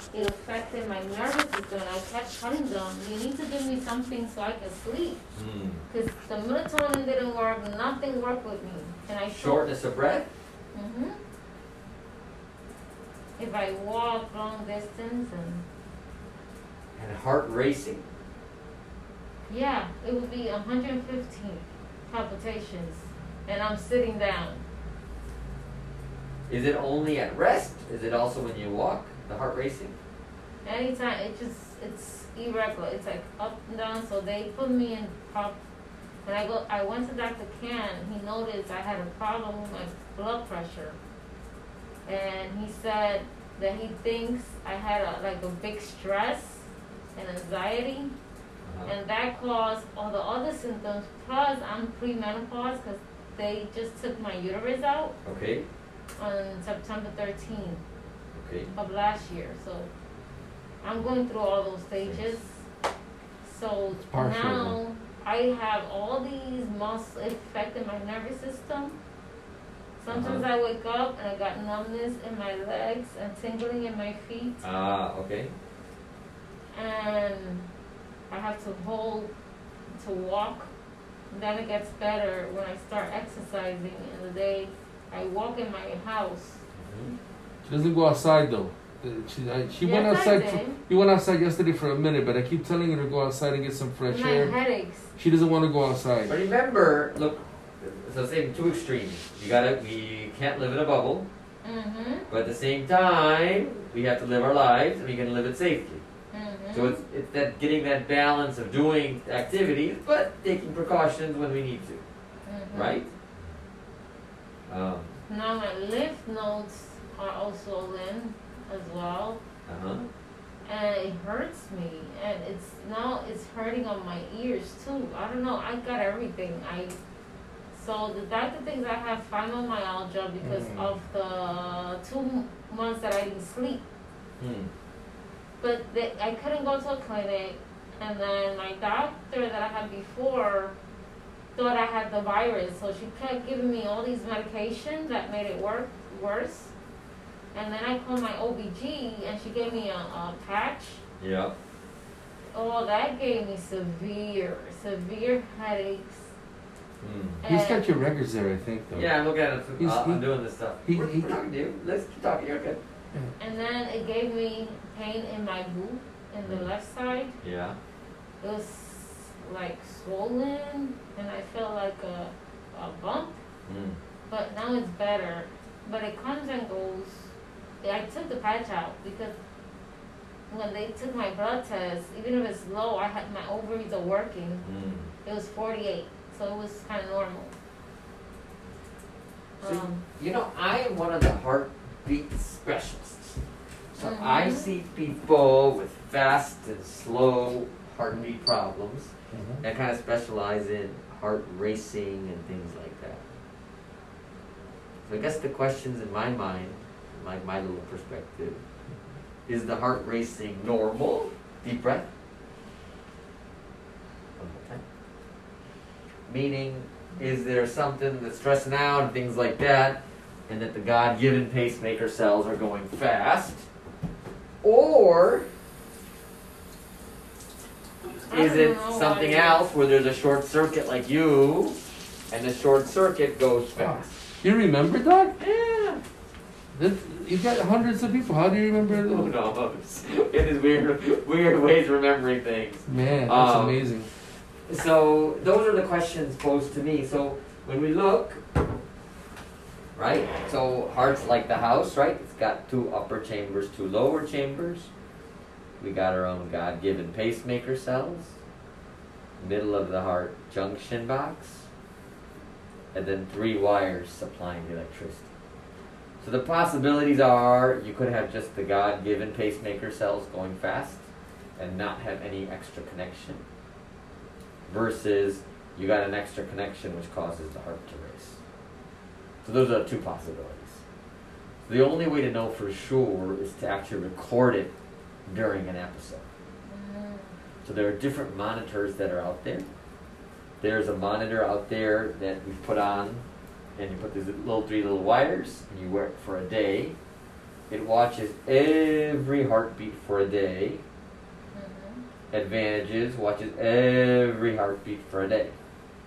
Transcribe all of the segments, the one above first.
it affected my nervous system, and I kept telling them, you need to give me something so I can sleep. Because the melatonin didn't work, nothing worked with me. And I Shortness of breath? Mm-hmm. If I walk long distance And heart racing? yeah, it would be 115 palpitations, and I'm sitting down. Is it only at rest? Is it also when you walk, the heart racing? Anytime, it's irregular. It's like up and down. So they put me in when I went to Dr. Ken. He noticed I had a problem with my blood pressure, and he said that he thinks I had a big stress and anxiety, and that caused all the other symptoms. Plus, I'm premenopause because they just took my uterus out. Okay. On September 13th Okay. of last year. So I'm going through all those stages. So now I have all these muscles affecting my nervous system. Sometimes I wake up and I got numbness in my legs and tingling in my feet. Okay. And I have to walk. Then it gets better when I start exercising in the day. I walk in my house. She doesn't go outside though. She went outside. You went outside yesterday for a minute, but I keep telling her to go outside and get some fresh air. My headaches. She doesn't want to go outside. But remember, look, so say two extremes. We can't live in a bubble. But at the same time, we have to live our lives, and we can live it safely. So it's that getting that balance of doing activities, but taking precautions when we need to, right? Now my lymph nodes are also in as well, and it hurts me, and it's hurting on my ears too. I don't know. I got everything. So the doctor thinks I have fibromyalgia because of the 2 months that I didn't sleep. But I couldn't go to a clinic, and then my doctor that I had before thought I had the virus, so she kept giving me all these medications that made it worse. And then I called my OBG, and she gave me a patch. Yeah. Oh, that gave me severe headaches. He's got your records there, I think, though. Yeah, I'm looking at it. I'm doing this stuff. We're talking to you. Let's keep talking. You're good. And then it gave me pain in my boot, in the left side. Yeah. It was like swollen, and I felt like a bump. But now it's better. But it comes and goes. I took the patch out because when they took my blood test, even if it's low, my ovaries are working. It was 48, so it was kind of normal. So, I am one of the heartbeat specialists. So I see people with fast and slow heartbeat problems and kind of specialize in heart racing and things like that. So I guess the questions in my mind, like my little perspective, is the heart racing normal? Deep breath. One more time. Meaning, is there something that's stressing out and things like that, and that the God-given pacemaker cells are going fast? Or is it something else where there's a short circuit like you, and the short circuit goes fast? You remember, Doc? Yeah. You've got hundreds of people. How do you remember? Who knows? It is weird ways of remembering things. Man, that's amazing. So those are the questions posed to me. So when we look, right? So heart's like the house, right? It's got 2 upper chambers, 2 lower chambers. We got our own God-given pacemaker cells. Middle of the heart junction box. And then 3 wires supplying the electricity. So the possibilities are you could have just the God-given pacemaker cells going fast and not have any extra connection, versus you got an extra connection which causes the heart to race. So those are 2 possibilities. So the only way to know for sure is to actually record it during an episode. So there are different monitors that are out there. There's a monitor out there that we put on, and you put these 3 little wires, and you wear it for a day. it watches every heartbeat for a day. Advantages, watches every heartbeat for a day.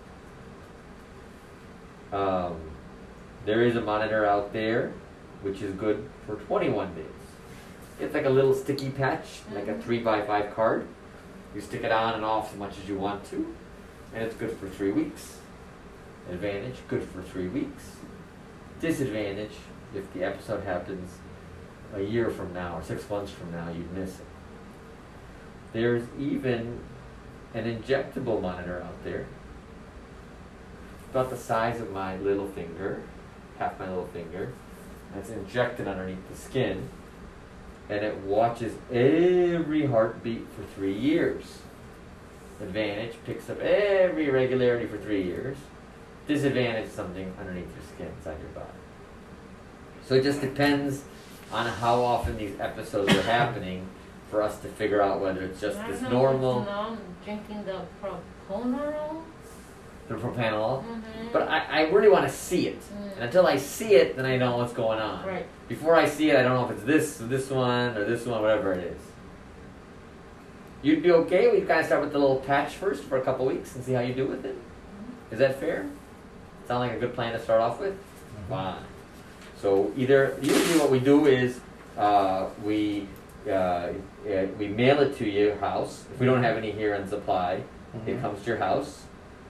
There is a monitor out there which is good for 21 days. It's like a little sticky patch, like a 3x5 card. You stick it on and off as much as you want to, and it's good for 3 weeks. Advantage, good for 3 weeks. Disadvantage, if the episode happens a year from now or 6 months from now, you'd miss it. There's even an injectable monitor out there, about the size of my little finger, half my little finger. That's injected underneath the skin, and it watches every heartbeat for 3 years. Advantage, picks up every irregularity for 3 years. Disadvantage, something underneath your skin inside your body. So it just depends on how often these episodes are happening for us to figure out whether it's just this normal. I'm drinking the propranolol. The propranolol. But I really want to see it. And until I see it, then I know what's going on. Right. Before I see it, I don't know if it's this one, whatever it is. You'd be okay? We kind of start with the little patch first for a couple weeks and see how you do with it. Is that fair? Sound like a good plan to start off with? Fine. So usually what we do is we mail it to your house. If we don't have any here in supply, it comes to your house.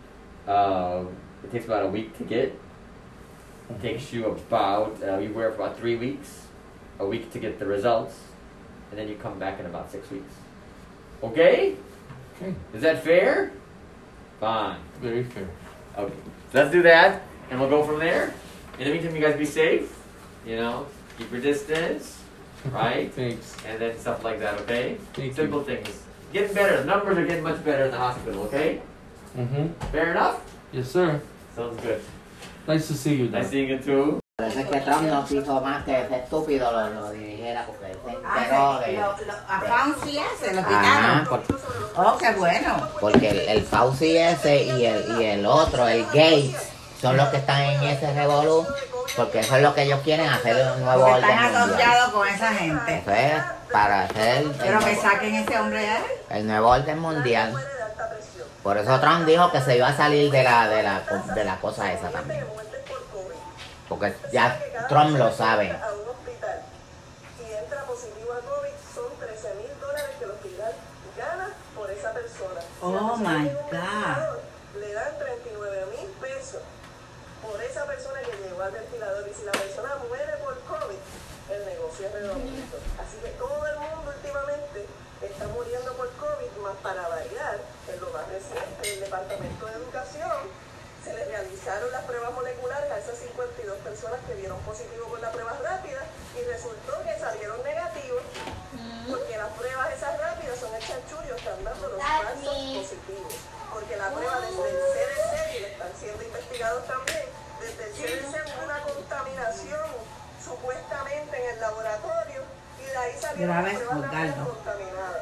It takes about a week to get. It takes you about, you wear it for about 3 weeks, a week to get the results, and then you come back in about 6 weeks. Okay? Okay. Is that fair? Fine. Very fair. Okay. So let's do that, and we'll go from there. In the meantime, you guys be safe. You know, keep your distance, right? Thanks. And then stuff like that, okay? Thank Simple things. Getting better. The numbers are getting much better in the hospital, okay? Fair enough? Yes, sir. Sounds good. Nice to see you, Doc. Nice seeing you too. Parece que Trump no quiso más que ese estúpido lo dirigiera porque él se enteró de... A Fauci ese, lo Ajá, quitaron. Oh, qué bueno. porque el Fauci ese y el otro, el Gates, son los que están en ese revolú, porque eso es lo que ellos quieren, hacer un nuevo Porque orden están mundial. asociados con esa gente. Eso es para hacer Pero que saquen ese hombre de ahí. el nuevo orden mundial. Por eso Trump dijo que se iba a salir de la cosa esa también. Porque ya Trump lo sabe. A un hospital y entra positivo a COVID, son $13,000 que el hospital gana por esa persona. Oh my God. Le dan 39,000 pesos por esa persona que llegó al ventilador, y si la persona muere por COVID, el negocio es redondito. Así que todo el mundo últimamente está muriendo por COVID, más para variar, en lo más reciente, el Departamento de Educación se les realizaron las pruebas moleculares a esas 52 personas que dieron positivo con la prueba rápida y resultó que salieron negativos, porque las pruebas esas rápidas son el chanchullo, están dando los falsos positivos, porque la prueba desde el CDC, y le están siendo investigados también, desde el CDC hubo una contaminación supuestamente en el laboratorio y de ahí salieron las pruebas rápidas contaminadas.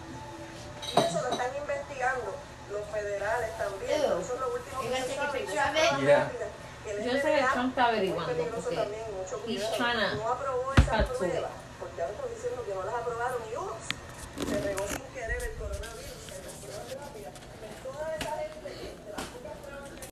Y eso lo están investigando los federales también. Eso es lo último que se sabe. Yo sé que Trump está averiguando porque he's trying to no aprobó esa cut to it. prueba, porque ahora están diciendo que no las aprobaron y ups, se regó 5